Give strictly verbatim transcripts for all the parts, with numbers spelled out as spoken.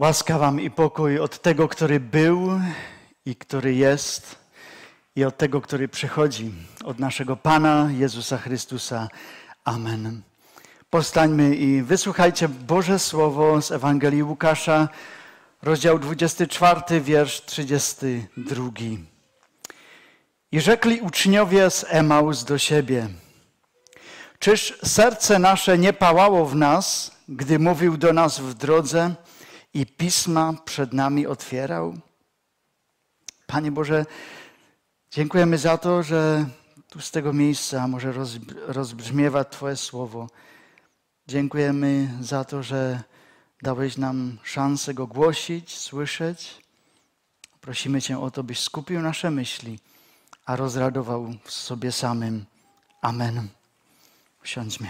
Łaska wam i pokój od tego, który był i który jest i od tego, który przychodzi, od naszego Pana Jezusa Chrystusa. Amen. Powstańmy i wysłuchajcie Boże Słowo z Ewangelii Łukasza, rozdział dwudziesty czwarty, wiersz trzydziesty drugi. I rzekli uczniowie z Emaus do siebie: czyż serce nasze nie pałało w nas, gdy mówił do nas w drodze i pisma przed nami otwierał? Panie Boże, dziękujemy za to, że tu z tego miejsca może rozbrzmiewa Twoje słowo. Dziękujemy za to, że dałeś nam szansę go głosić, słyszeć. Prosimy Cię o to, byś skupił nasze myśli, a rozradował w sobie samym. Amen. Usiądźmy.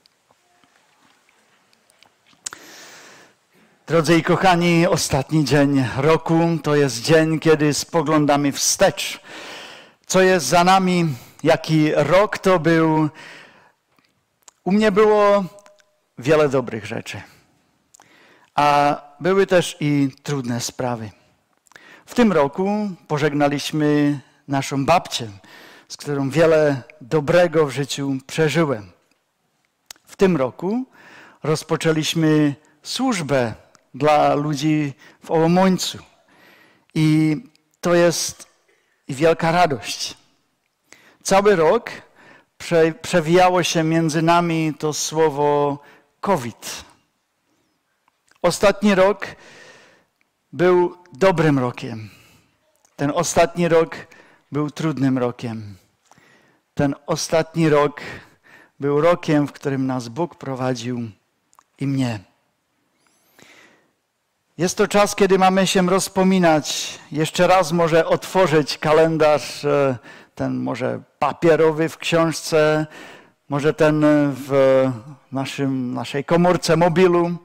Drodzy i kochani, ostatni dzień roku to jest dzień, kiedy spoglądamy wstecz. Co jest za nami, jaki rok to był. U mnie było wiele dobrych rzeczy, a były też i trudne sprawy. W tym roku pożegnaliśmy naszą babcię, z którą wiele dobrego w życiu przeżyłem. W tym roku rozpoczęliśmy służbę dla ludzi w Ołomońcu. I to jest wielka radość. Cały rok prze, przewijało się między nami to słowo COVID. Ostatni rok był dobrym rokiem. Ten ostatni rok był trudnym rokiem. Ten ostatni rok był rokiem, w którym nas Bóg prowadził i mnie. Jest to czas, kiedy mamy się rozpominać, jeszcze raz może otworzyć kalendarz, ten może papierowy w książce, może ten w naszym, naszej komórce mobilu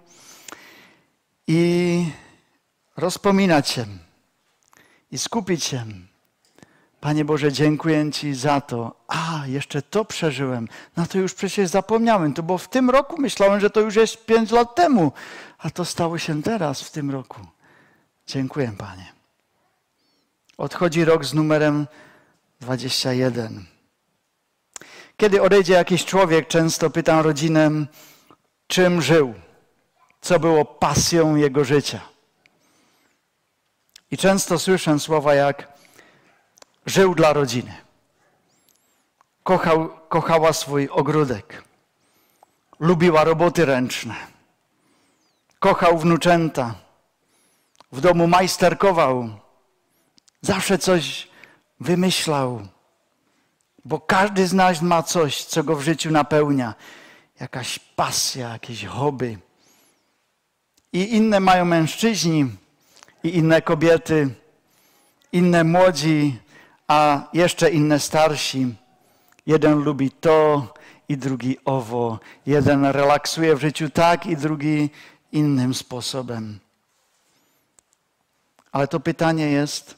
i rozpominać się i skupić się. Panie Boże, dziękuję Ci za to. A, jeszcze to przeżyłem. No to już przecież zapomniałem. To było w tym roku. Myślałem, że to już jest pięć lat temu. A to stało się teraz, w tym roku. Dziękuję, Panie. Odchodzi rok z numerem dwadzieścia jeden. Kiedy odejdzie jakiś człowiek, często pytam rodzinę, czym żył, co było pasją jego życia. I często słyszę słowa jak żył dla rodziny. Kochał, kochała swój ogródek. Lubiła roboty ręczne. Kochał wnuczęta. W domu majsterkował. Zawsze coś wymyślał. Bo każdy z nas ma coś, co go w życiu napełnia. Jakaś pasja, jakieś hobby. I inne mają mężczyźni, i inne kobiety, inne młodzi, a jeszcze inne starsi. Jeden lubi to i drugi owo. Jeden relaksuje w życiu tak i drugi innym sposobem. Ale to pytanie jest,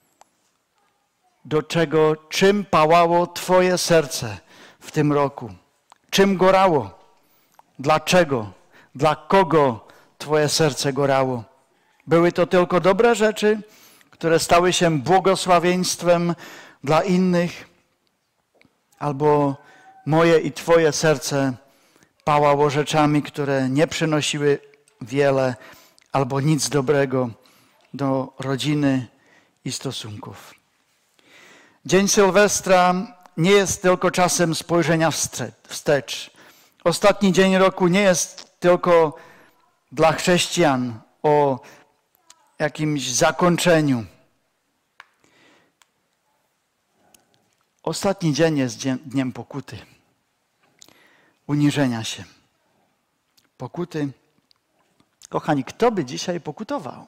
do czego, czym pałało Twoje serce w tym roku? Czym gorało? Dlaczego? Dla kogo Twoje serce gorało? Były to tylko dobre rzeczy, które stały się błogosławieństwem dla innych, albo moje i Twoje serce pałało rzeczami, które nie przynosiły wiele albo nic dobrego do rodziny i stosunków. Dzień Sylwestra nie jest tylko czasem spojrzenia wstecz. Ostatni dzień roku nie jest tylko dla chrześcijan o jakimś zakończeniu. Ostatni dzień jest dniem pokuty, uniżenia się, pokuty. Kochani, kto by dzisiaj pokutował?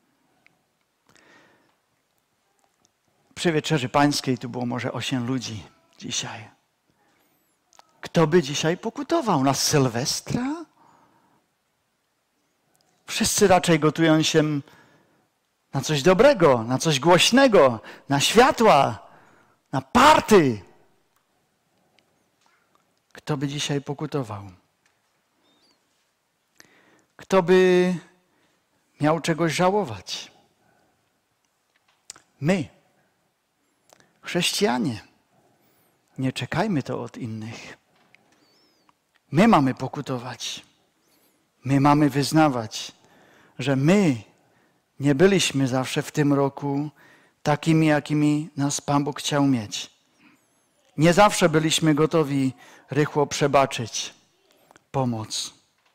Przy Wieczerzy Pańskiej tu było może osiem ludzi dzisiaj. Kto by dzisiaj pokutował? Na Sylwestra? Wszyscy raczej gotują się na coś dobrego, na coś głośnego, na światła, na party. Kto by dzisiaj pokutował? Kto by miał czegoś żałować. My, chrześcijanie, nie czekajmy to od innych. My mamy pokutować. My mamy wyznawać, że my nie byliśmy zawsze w tym roku takimi, jakimi nas Pan Bóg chciał mieć. Nie zawsze byliśmy gotowi rychło przebaczyć, pomóc.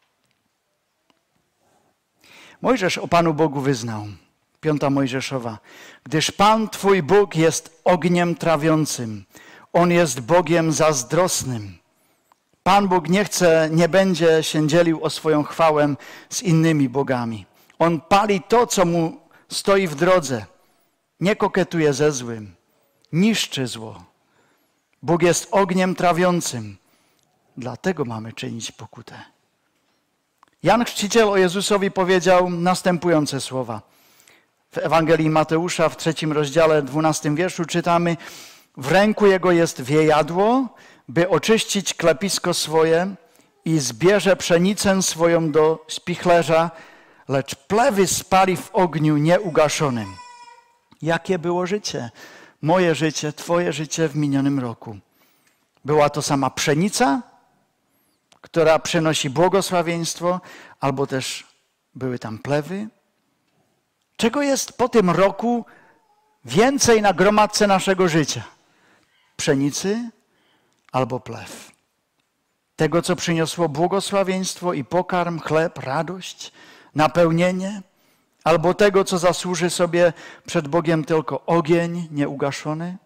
Mojżesz o Panu Bogu wyznał, piąta Mojżeszowa, gdyż Pan Twój Bóg jest ogniem trawiącym, On jest Bogiem zazdrosnym. Pan Bóg nie chce, nie będzie się dzielił o swoją chwałę z innymi bogami. On pali to, co mu stoi w drodze. Nie koketuje ze złym, niszczy zło. Bóg jest ogniem trawiącym. Dlatego mamy czynić pokutę. Jan Chrzciciel o Jezusowi powiedział następujące słowa. W Ewangelii Mateusza w trzecim rozdziale, dwunastym wierszu czytamy: w ręku Jego jest wiejadło, by oczyścić klepisko swoje, i zbierze pszenicę swoją do spichlerza, lecz plewy spali w ogniu nieugaszonym. Jakie było życie? Moje życie, Twoje życie w minionym roku. Była to sama pszenica, która przynosi błogosławieństwo, albo też były tam plewy. Czego jest po tym roku więcej na gromadce naszego życia? Pszenicy albo plew. Tego, co przyniosło błogosławieństwo i pokarm, chleb, radość, napełnienie, albo tego, co zasłuży sobie przed Bogiem tylko ogień nieugaszony?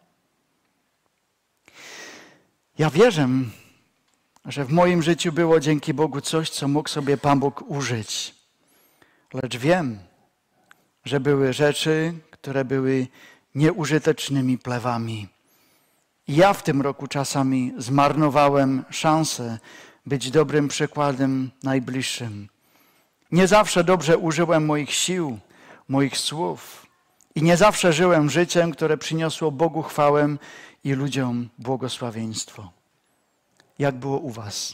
Ja wierzę, że w moim życiu było dzięki Bogu coś, co mógł sobie Pan Bóg użyć. Lecz wiem, że były rzeczy, które były nieużytecznymi plewami. I ja w tym roku czasami zmarnowałem szansę być dobrym przykładem najbliższym. Nie zawsze dobrze użyłem moich sił, moich słów i nie zawsze żyłem życiem, które przyniosło Bogu chwałę i ludziom błogosławieństwo. Jak było u was?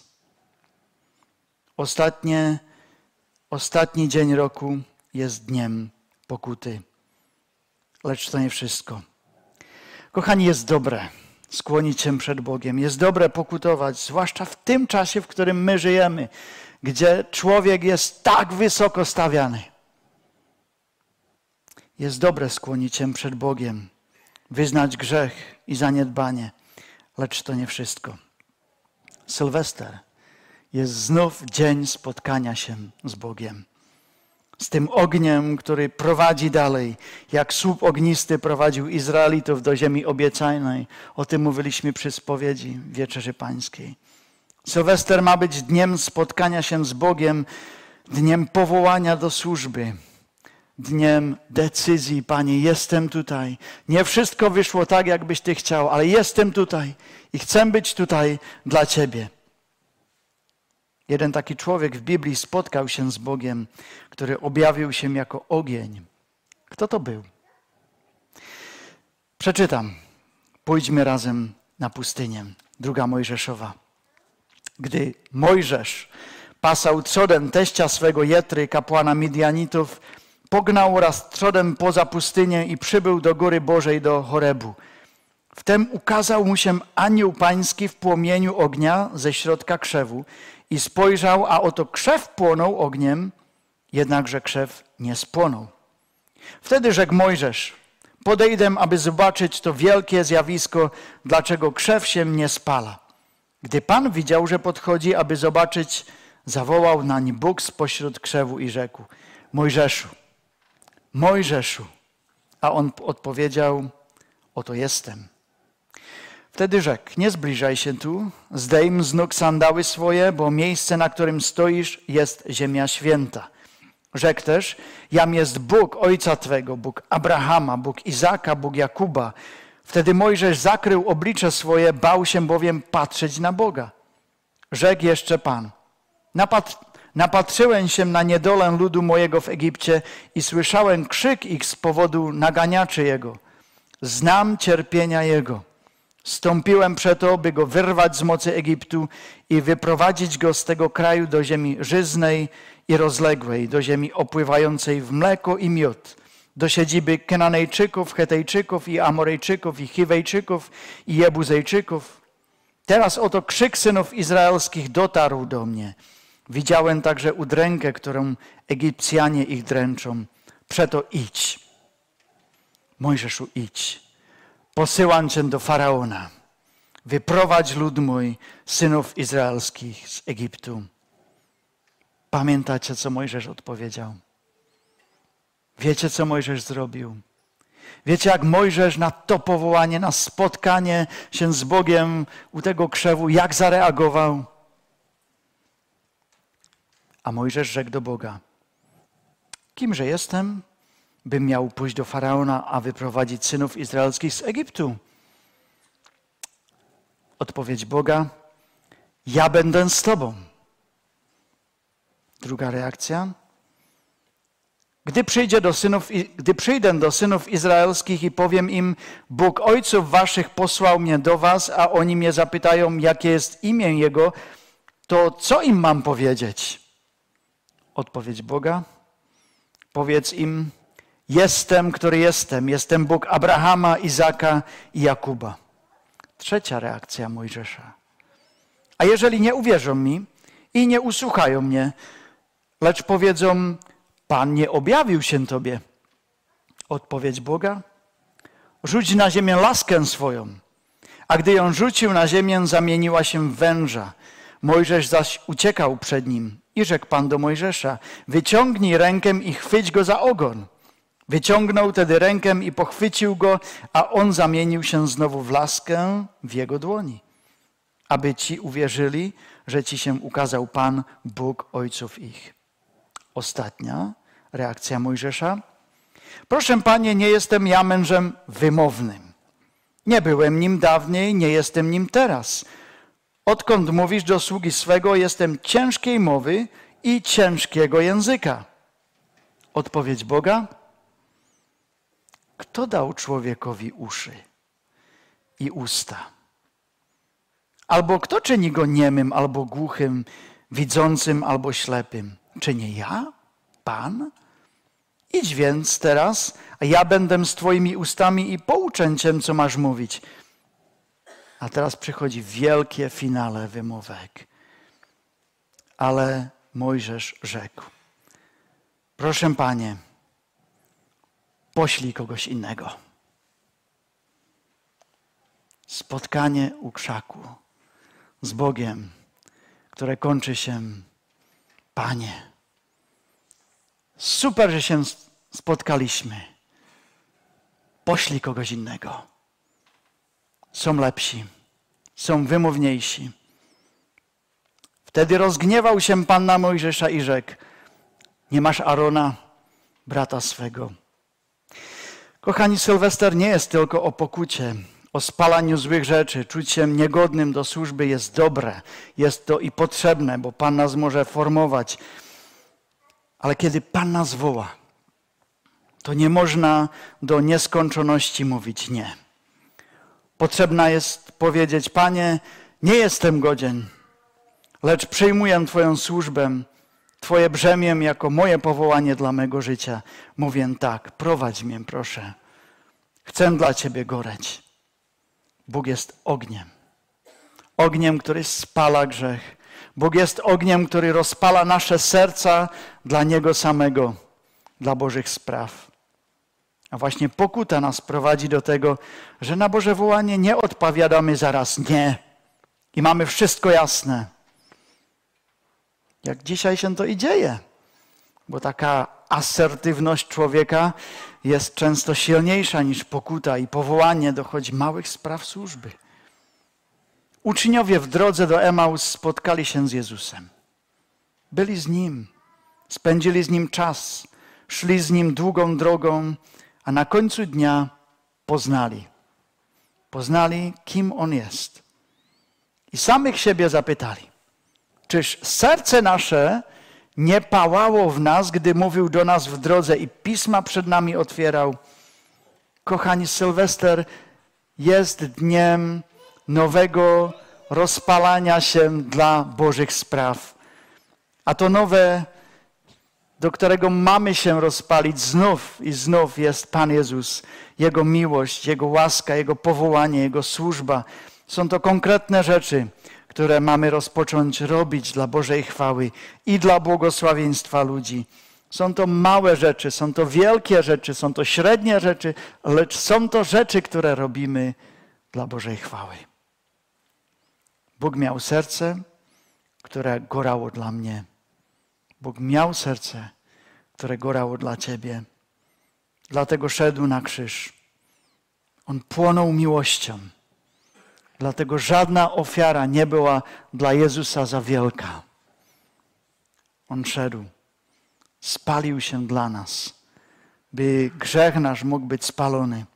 Ostatnie, ostatni dzień roku jest dniem pokuty. Lecz to nie wszystko. Kochani, jest dobre skłonić się przed Bogiem. Jest dobre pokutować, zwłaszcza w tym czasie, w którym my żyjemy, gdzie człowiek jest tak wysoko stawiany. Jest dobre skłonić się przed Bogiem, wyznać grzech i zaniedbanie, lecz to nie wszystko. Sylwester jest znów dzień spotkania się z Bogiem. Z tym ogniem, który prowadzi dalej, jak słup ognisty prowadził Izraelitów do ziemi obiecanej. O tym mówiliśmy przy spowiedzi Wieczerzy Pańskiej. Sylwester ma być dniem spotkania się z Bogiem, dniem powołania do służby, dniem decyzji. Panie, jestem tutaj. Nie wszystko wyszło tak, jakbyś Ty chciał, ale jestem tutaj i chcę być tutaj dla Ciebie. Jeden taki człowiek w Biblii spotkał się z Bogiem, który objawił się jako ogień. Kto to był? Przeczytam. Pójdźmy razem na pustynię. Druga Mojżeszowa. Gdy Mojżesz pasał trzodem teścia swego Jetry, kapłana Midianitów, pognał raz trzodem poza pustynię i przybył do góry Bożej, do Horebu. Wtem ukazał mu się anioł pański w płomieniu ognia ze środka krzewu i spojrzał, a oto krzew płonął ogniem, jednakże krzew nie spłonął. Wtedy rzekł Mojżesz: podejdę, aby zobaczyć to wielkie zjawisko, dlaczego krzew się nie spala. Gdy Pan widział, że podchodzi, aby zobaczyć, zawołał nań Bóg spośród krzewu i rzekł: Mojżeszu, Mojżeszu. A on odpowiedział: oto jestem. Wtedy rzekł: nie zbliżaj się tu, zdejm z nóg sandały swoje, bo miejsce, na którym stoisz, jest ziemia święta. Rzekł też: jam jest Bóg ojca twego, Bóg Abrahama, Bóg Izaka, Bóg Jakuba. Wtedy Mojżesz zakrył oblicze swoje, bał się bowiem patrzeć na Boga. Rzekł jeszcze Pan: Napat- napatrzyłem się na niedolę ludu mojego w Egipcie i słyszałem krzyk ich z powodu naganiaczy jego. Znam cierpienia jego. Stąpiłem przeto, by go wyrwać z mocy Egiptu i wyprowadzić go z tego kraju do ziemi żyznej i rozległej, do ziemi opływającej w mleko i miód, do siedziby Kenanejczyków, Hetejczyków i Amorejczyków i Chiwejczyków i Jebuzejczyków. Teraz oto krzyk synów izraelskich dotarł do mnie. Widziałem także udrękę, którą Egipcjanie ich dręczą. Przeto idź. Mojżeszu, idź. Posyłam cię do Faraona. Wyprowadź lud mój, synów izraelskich z Egiptu. Pamiętacie, co Mojżesz odpowiedział? Wiecie, co Mojżesz zrobił? Wiecie, jak Mojżesz na to powołanie, na spotkanie się z Bogiem u tego krzewu, jak zareagował? A Mojżesz rzekł do Boga: kimże jestem, bym miał pójść do Faraona, a wyprowadzić synów izraelskich z Egiptu? Odpowiedź Boga: ja będę z tobą. Druga reakcja: Gdy, przyjdzie do synów, gdy przyjdę do synów izraelskich i powiem im: Bóg ojców waszych posłał mnie do was, a oni mnie zapytają, jakie jest imię Jego, to co im mam powiedzieć? Odpowiedź Boga: powiedz im: jestem, który jestem. Jestem Bóg Abrahama, Izaka i Jakuba. Trzecia reakcja Mojżesza: a jeżeli nie uwierzą mi i nie usłuchają mnie, lecz powiedzą: Pan nie objawił się tobie. Odpowiedź Boga: rzuć na ziemię laskę swoją. A gdy ją rzucił na ziemię, zamieniła się w węża. Mojżesz zaś uciekał przed nim. I rzekł Pan do Mojżesza: wyciągnij rękę i chwyć go za ogon. Wyciągnął tedy rękę i pochwycił go, a on zamienił się znowu w laskę w jego dłoni. Aby ci uwierzyli, że ci się ukazał Pan, Bóg ojców ich. Ostatnia reakcja Mojżesza: proszę Panie, nie jestem ja mężem wymownym. Nie byłem nim dawniej, nie jestem nim teraz. Odkąd mówisz do sługi swego, jestem ciężkiej mowy i ciężkiego języka. Odpowiedź Boga: kto dał człowiekowi uszy i usta? Albo kto czyni go niemym, albo głuchym, widzącym, albo ślepym? Czy nie ja, Pan? Idź więc teraz, a ja będę z twoimi ustami i pouczę cię, co masz mówić. A teraz przychodzi wielkie finale wymówek. Ale Mojżesz rzekł: proszę Panie, poślij kogoś innego. Spotkanie u krzaku z Bogiem, które kończy się: Panie, super, że się spotkaliśmy. Poślij kogoś innego. Są lepsi, są wymowniejsi. Wtedy rozgniewał się Pan na Mojżesza i rzekł: nie masz Arona, brata swego. Kochani, Sylwester nie jest tylko o pokucie, o spalaniu złych rzeczy. Czuć się niegodnym do służby jest dobre, jest to i potrzebne, bo Pan nas może formować. Ale kiedy Pan nas woła, to nie można do nieskończoności mówić nie. Potrzebna jest powiedzieć: Panie, nie jestem godzien, lecz przyjmuję Twoją służbę, Twoje brzemię jako moje powołanie dla mego życia. Mówię tak, prowadź mnie, proszę. Chcę dla Ciebie goreć. Bóg jest ogniem. Ogniem, który spala grzech. Bóg jest ogniem, który rozpala nasze serca dla Niego samego, dla Bożych spraw. A właśnie pokuta nas prowadzi do tego, że na Boże wołanie nie odpowiadamy zaraz nie i mamy wszystko jasne. Jak dzisiaj się to i dzieje, bo taka asertywność człowieka jest często silniejsza niż pokuta i powołanie do choć małych spraw służby. Uczniowie w drodze do Emaus spotkali się z Jezusem. Byli z Nim, spędzili z Nim czas, szli z Nim długą drogą, a na końcu dnia poznali. Poznali, kim On jest. I samych siebie zapytali: czyż serce nasze nie pałało w nas, gdy mówił do nas w drodze i pisma przed nami otwierał? Kochani, Sylwester jest dniem nowego rozpalania się dla Bożych spraw. A to nowe do którego mamy się rozpalić znów i znów, jest Pan Jezus. Jego miłość, Jego łaska, Jego powołanie, Jego służba. Są to konkretne rzeczy, które mamy rozpocząć robić dla Bożej chwały i dla błogosławieństwa ludzi. Są to małe rzeczy, są to wielkie rzeczy, są to średnie rzeczy, lecz są to rzeczy, które robimy dla Bożej chwały. Bóg miał serce, które gorało dla mnie. Bóg miał serce, które gorało dla ciebie. Dlatego szedł na krzyż. On płonął miłością. Dlatego żadna ofiara nie była dla Jezusa za wielka. On szedł. Spalił się dla nas, by grzech nasz mógł być spalony.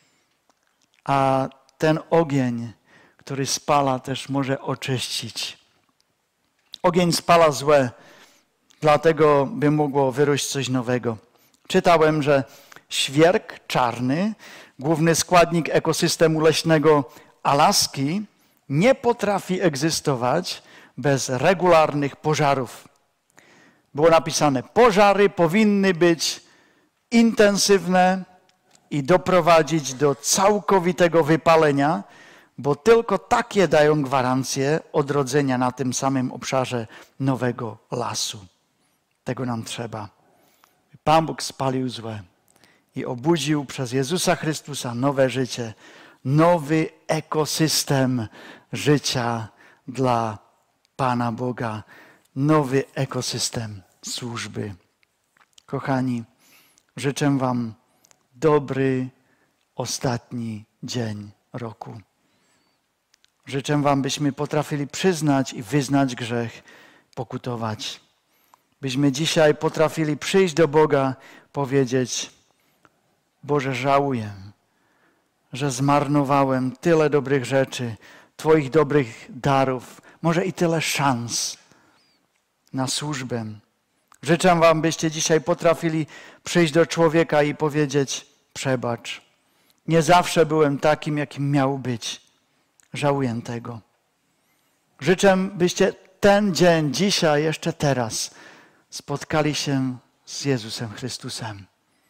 A ten ogień, który spala, też może oczyścić. Ogień spala złe, dlatego by mogło wyrósć coś nowego. Czytałem, że świerk czarny, główny składnik ekosystemu leśnego Alaski, nie potrafi egzystować bez regularnych pożarów. Było napisane, pożary powinny być intensywne i doprowadzić do całkowitego wypalenia, bo tylko takie dają gwarancję odrodzenia na tym samym obszarze nowego lasu. Tego nam trzeba. Pan Bóg spalił złe i obudził przez Jezusa Chrystusa nowe życie, nowy ekosystem życia dla Pana Boga, nowy ekosystem służby. Kochani, życzę wam dobry ostatni dzień roku. Życzę wam, byśmy potrafili przyznać i wyznać grzech, pokutować. Byśmy dzisiaj potrafili przyjść do Boga, powiedzieć: Boże, żałuję, że zmarnowałem tyle dobrych rzeczy, Twoich dobrych darów, może i tyle szans na służbę. Życzę wam, byście dzisiaj potrafili przyjść do człowieka i powiedzieć: przebacz, nie zawsze byłem takim, jakim miał być. Żałuję tego. Życzę, byście ten dzień, dzisiaj, jeszcze teraz spotkali się z Jezusem Chrystusem.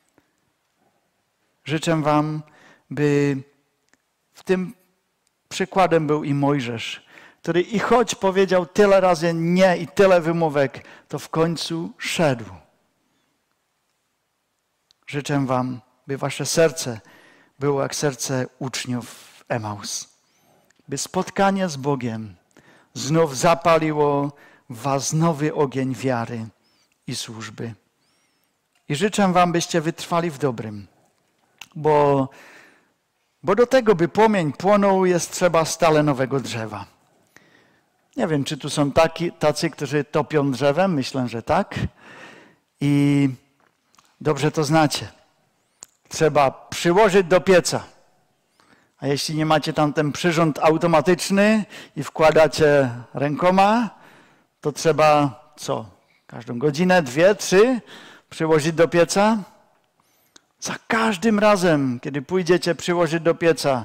Życzę wam, by w tym przykładem był i Mojżesz, który i choć powiedział tyle razy nie i tyle wymówek, to w końcu szedł. Życzę wam, by wasze serce było jak serce uczniów w Emaus. By spotkanie z Bogiem znów zapaliło w was nowy ogień wiary i służby. I życzę wam, byście wytrwali w dobrym, bo, bo do tego, by płomień płonął, jest trzeba stale nowego drzewa. Nie wiem, czy tu są taki, tacy, którzy topią drzewem. Myślę, że tak. I dobrze to znacie. Trzeba przyłożyć do pieca. A jeśli nie macie tam ten przyrząd automatyczny i wkładacie rękoma, to trzeba co? Każdą godzinę, dwie, trzy przyłożyć do pieca. Za każdym razem, kiedy pójdziecie przyłożyć do pieca,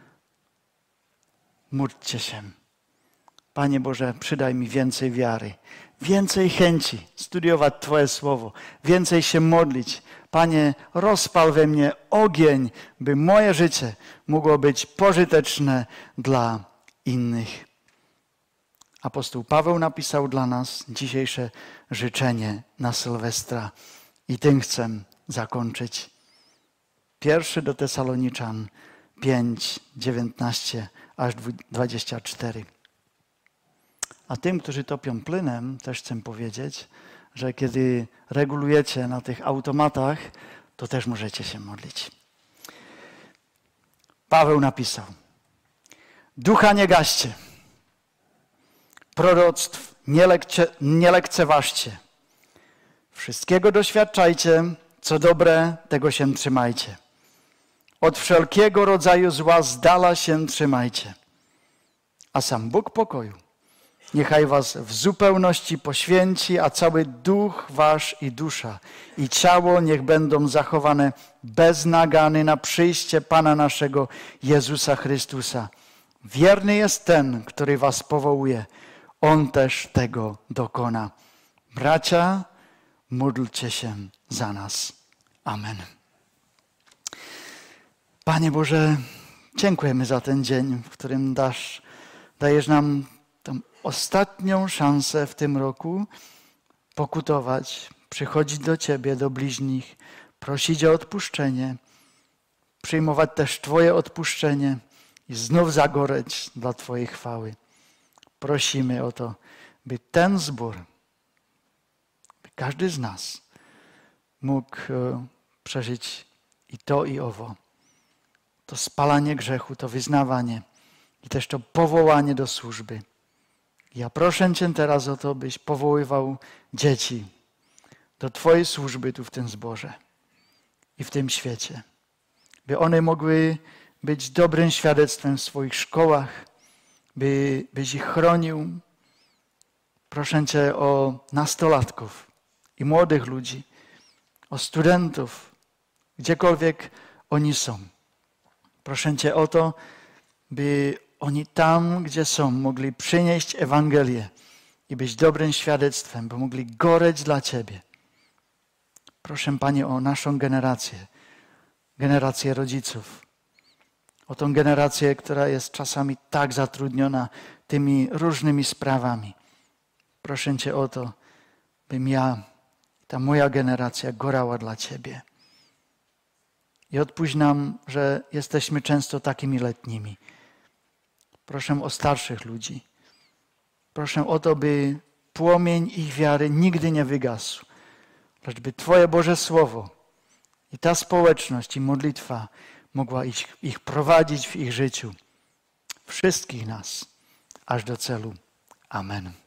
módlcie się. Panie Boże, przydaj mi więcej wiary, więcej chęci studiować Twoje Słowo, więcej się modlić. Panie, rozpal we mnie ogień, by moje życie mogło być pożyteczne dla innych. Apostoł Paweł napisał dla nas dzisiejsze życzenie na Sylwestra i tym chcę zakończyć. Pierwszy do Tesaloniczan pięć, dziewiętnaście aż dwadzieścia cztery. A tym, którzy topią płynem, też chcę powiedzieć, że kiedy regulujecie na tych automatach, to też możecie się modlić. Paweł napisał: ducha nie gaście, proroctw nie, lekce, nie lekceważcie, wszystkiego doświadczajcie, co dobre, tego się trzymajcie. Od wszelkiego rodzaju zła z dala się trzymajcie. A sam Bóg pokoju niechaj was w zupełności poświęci, a cały duch wasz i dusza i ciało niech będą zachowane bez nagany na przyjście Pana naszego Jezusa Chrystusa. Wierny jest ten, który was powołuje. On też tego dokona. Bracia, módlcie się za nas. Amen. Panie Boże, dziękujemy za ten dzień, w którym dasz, dajesz nam tą ostatnią szansę w tym roku pokutować, przychodzić do Ciebie, do bliźnich, prosić o odpuszczenie, przyjmować też Twoje odpuszczenie i znów zagoreć dla Twojej chwały. Prosimy o to, by ten zbór, by każdy z nas mógł przeżyć i to, i owo. To spalanie grzechu, to wyznawanie i też to powołanie do służby. Ja proszę Cię teraz o to, byś powoływał dzieci do Twojej służby tu w tym zborze i w tym świecie. By one mogły być dobrym świadectwem w swoich szkołach, by, byś ich chronił. Proszę Cię o nastolatków i młodych ludzi, o studentów, gdziekolwiek oni są. Proszę Cię o to, by oni tam, gdzie są, mogli przynieść Ewangelię i być dobrym świadectwem, by mogli goreć dla Ciebie. Proszę, Panie, o naszą generację, generację rodziców, o tą generację, która jest czasami tak zatrudniona tymi różnymi sprawami. Proszę Cię o to, bym ja, ta moja generacja gorała dla Ciebie. I odpuść nam, że jesteśmy często takimi letnimi. Proszę o starszych ludzi. Proszę o to, by płomień ich wiary nigdy nie wygasł. Lecz by Twoje Boże Słowo i ta społeczność i modlitwa mogła ich, ich prowadzić w ich życiu. Wszystkich nas, aż do celu. Amen.